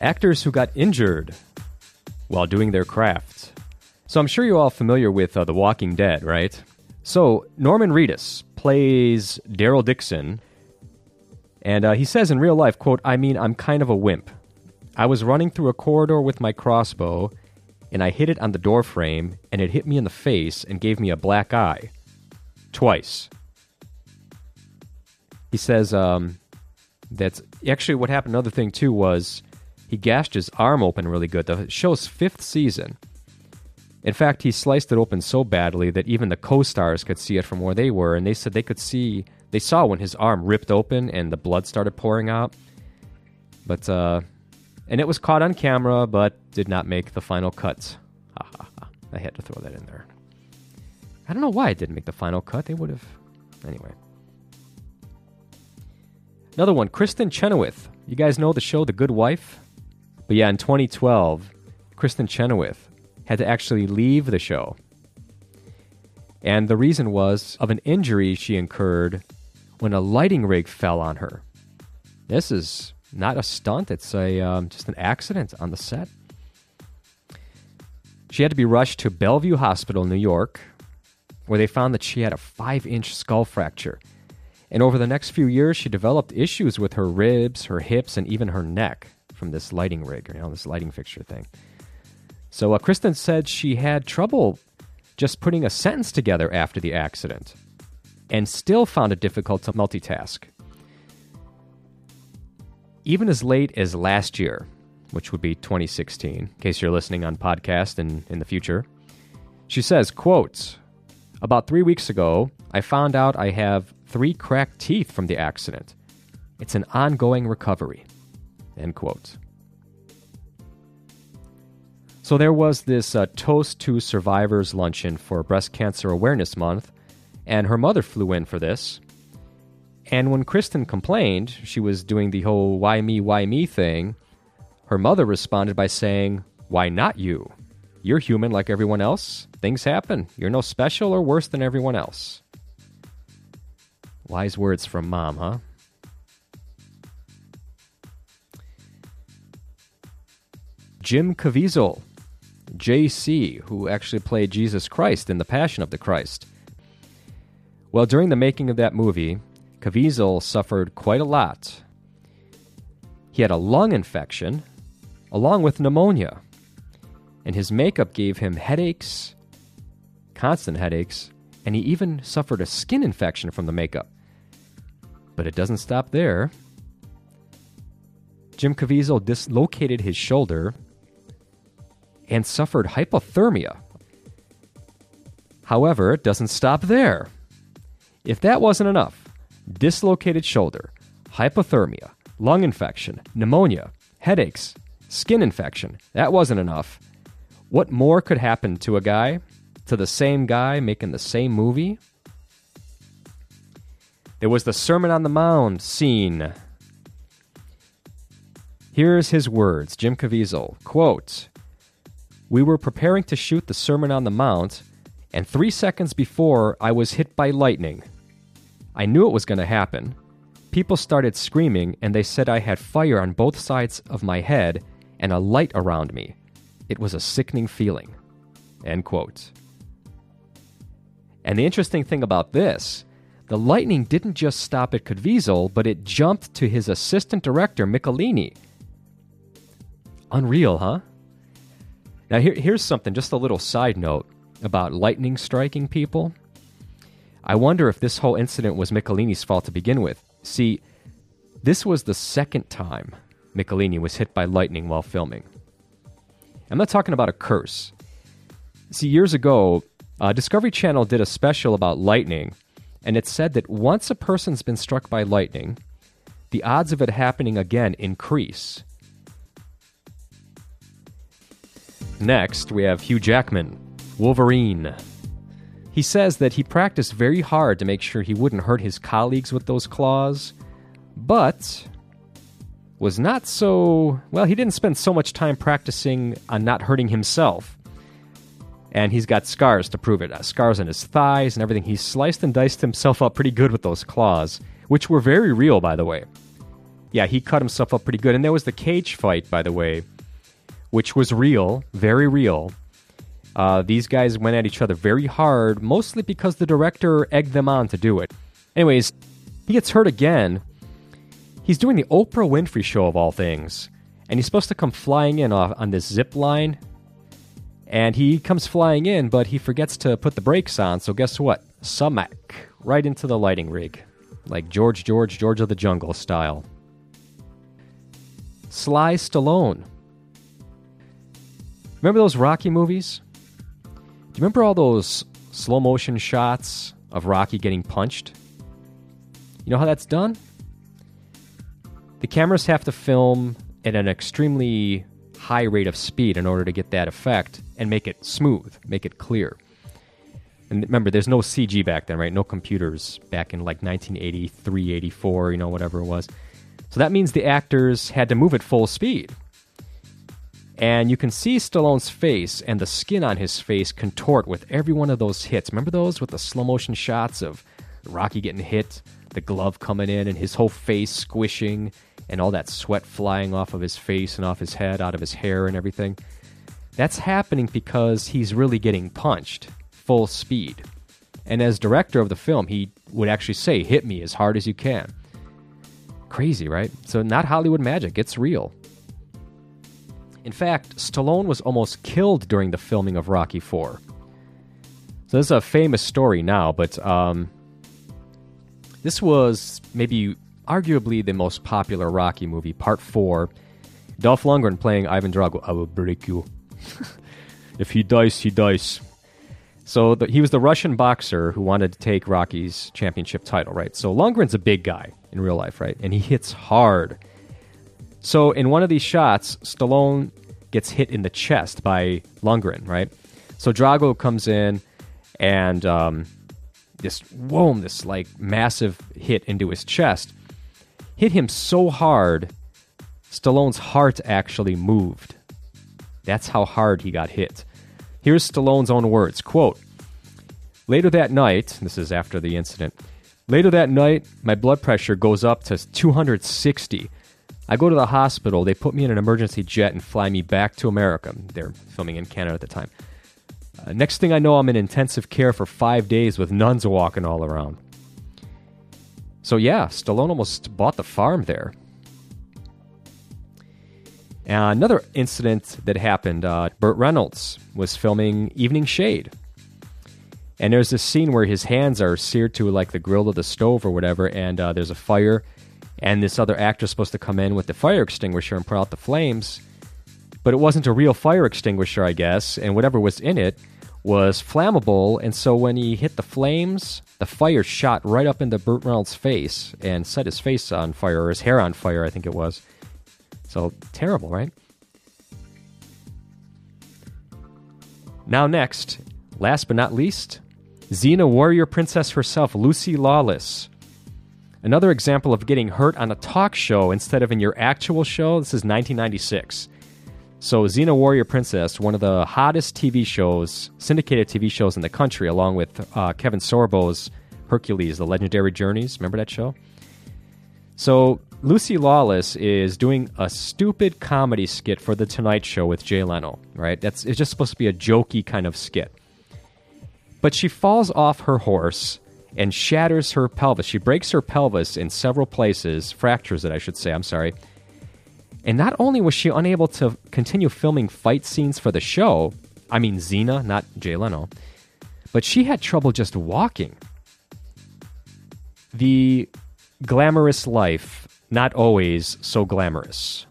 Actors who got injured while doing their craft. So I'm sure you're all familiar with The Walking Dead, right? So Norman Reedus plays Daryl Dixon, and he says in real life, quote, I'm kind of a wimp. I was running through a corridor with my crossbow, and I hit it on the door frame, and it hit me in the face and gave me a black eye. Twice. He says that's actually what happened. Another thing, too, was he gashed his arm open really good. The show's 5th season. In fact, he sliced it open so badly that even the co-stars could see it from where they were, and they said they saw when his arm ripped open and the blood started pouring out. But, and it was caught on camera, but did not make the final cut. Ha ha ha. I had to throw that in there. I don't know why it didn't make the final cut. They would have... Anyway. Another one, Kristen Chenoweth. You guys know the show The Good Wife? But yeah, in 2012, Kristen Chenoweth had to actually leave the show. And the reason was of an injury she incurred when a lighting rig fell on her. This is not a stunt. It's just an accident on the set. She had to be rushed to Bellevue Hospital in New York, where they found that she had a 5-inch skull fracture. And over the next few years, she developed issues with her ribs, her hips, and even her neck from this lighting rig, this lighting fixture thing. So Kristen said she had trouble just putting a sentence together after the accident and still found it difficult to multitask. Even as late as last year, which would be 2016, in case you're listening on podcast in the future, she says, quote, about 3 weeks ago, I found out I have 3 cracked teeth from the accident. It's an ongoing recovery. End quote. So there was this Toast to Survivors luncheon for Breast Cancer Awareness Month, and her mother flew in for this. And when Kristen complained, she was doing the whole why me thing, her mother responded by saying, why not you? You're human like everyone else. Things happen. You're no special or worse than everyone else. Wise words from Mom, huh? Jim Caviezel, JC, who actually played Jesus Christ in The Passion of the Christ. Well, during the making of that movie, Caviezel suffered quite a lot. He had a lung infection, along with pneumonia, and his makeup gave him headaches, constant headaches, and he even suffered a skin infection from the makeup. But it doesn't stop there. Jim Caviezel dislocated his shoulder and suffered hypothermia. However, it doesn't stop there. If that wasn't enough, dislocated shoulder, hypothermia, lung infection, pneumonia, headaches, skin infection, that wasn't enough. What more could happen to a guy, to the same guy making the same movie? There was the Sermon on the Mount scene. Here's his words, Jim Caviezel, quote, we were preparing to shoot the Sermon on the Mount, and 3 seconds before I was hit by lightning. I knew it was going to happen. People started screaming, and they said I had fire on both sides of my head and a light around me. It was a sickening feeling. End quote. And the interesting thing about this, the lightning didn't just stop at Caviezel, but it jumped to his assistant director, Michelini. Unreal, huh? Now here's something, just a little side note about lightning striking people. I wonder if this whole incident was Michelini's fault to begin with. See, this was the second time Michelini was hit by lightning while filming. I'm not talking about a curse. See, years ago, Discovery Channel did a special about lightning, and it said that once a person's been struck by lightning, the odds of it happening again increase. Next, we have Hugh Jackman, Wolverine. He says that he practiced very hard to make sure he wouldn't hurt his colleagues with those claws, but was not so... Well, he didn't spend so much time practicing on not hurting himself. And he's got scars to prove it. Scars on his thighs and everything. He sliced and diced himself up pretty good with those claws, which were very real, by the way. yeah, he cut himself up pretty good. And there was the cage fight, by the way, which was real, very real. These guys went at each other very hard, mostly because the director egged them on to do it. Anyways, he gets hurt again. He's doing the Oprah Winfrey Show of all things, and he's supposed to come flying in on this zip line. And he comes flying in, but he forgets to put the brakes on, so guess what? Sumac, right into the lighting rig. Like George of the Jungle style. Sly Stallone. Remember those Rocky movies? Do you remember all those slow motion shots of Rocky getting punched? You know how that's done? The cameras have to film at an extremely high rate of speed in order to get that effect and make it smooth, make it clear. And remember, there's no CG back then, right? No computers back in like 1983, 84, whatever it was. So that means the actors had to move at full speed. And you can see Stallone's face and the skin on his face contort with every one of those hits. Remember those with the slow motion shots of Rocky getting hit, the glove coming in, and his whole face squishing, and all that sweat flying off of his face and off his head, out of his hair and everything? That's happening because he's really getting punched full speed. And as director of the film, he would actually say, hit me as hard as you can. Crazy, right? So not Hollywood magic, it's real. In fact, Stallone was almost killed during the filming of Rocky IV. So this is a famous story now, but this was maybe arguably the most popular Rocky movie, Part 4. Dolph Lundgren playing Ivan Drago. I will break you. If he dies, he dies. So he was the Russian boxer who wanted to take Rocky's championship title, right? So Lundgren's a big guy in real life, right? And he hits hard. So in one of these shots, Stallone gets hit in the chest by Lundgren, right? So Drago comes in and this like massive hit into his chest hit him so hard, Stallone's heart actually moved. That's how hard he got hit. Here's Stallone's own words, quote, "Later that night," this is after the incident, "later that night, my blood pressure goes up to 260. I go to the hospital, they put me in an emergency jet and fly me back to America." They're filming in Canada at the time. "Next thing I know, I'm in intensive care for 5 days with nuns walking all around." So yeah, Stallone almost bought the farm there. Another incident that happened, Burt Reynolds was filming Evening Shade. And there's this scene where his hands are seared to like the grill of the stove or whatever, and there's a fire, and this other actor is supposed to come in with the fire extinguisher and put out the flames, but it wasn't a real fire extinguisher, I guess, and whatever was in it was flammable, and so when he hit the flames, the fire shot right up into Burt Reynolds' face and set his face on fire, or his hair on fire, I think it was. So, terrible, right? Now next, last but not least, Xena warrior princess herself, Lucy Lawless. Another example of getting hurt on a talk show instead of in your actual show. This is 1996. So Xena Warrior Princess, one of the hottest TV shows, syndicated TV shows in the country, along with Kevin Sorbo's Hercules, The Legendary Journeys. Remember that show? So Lucy Lawless is doing a stupid comedy skit for The Tonight Show with Jay Leno, right? It's just supposed to be a jokey kind of skit. But she falls off her horse and shatters her pelvis. She breaks her pelvis in several places, fractures it, I should say, I'm sorry. And not only was she unable to continue filming fight scenes for the show, I mean Xena, not Jay Leno, but she had trouble just walking. The glamorous life, not always so glamorous.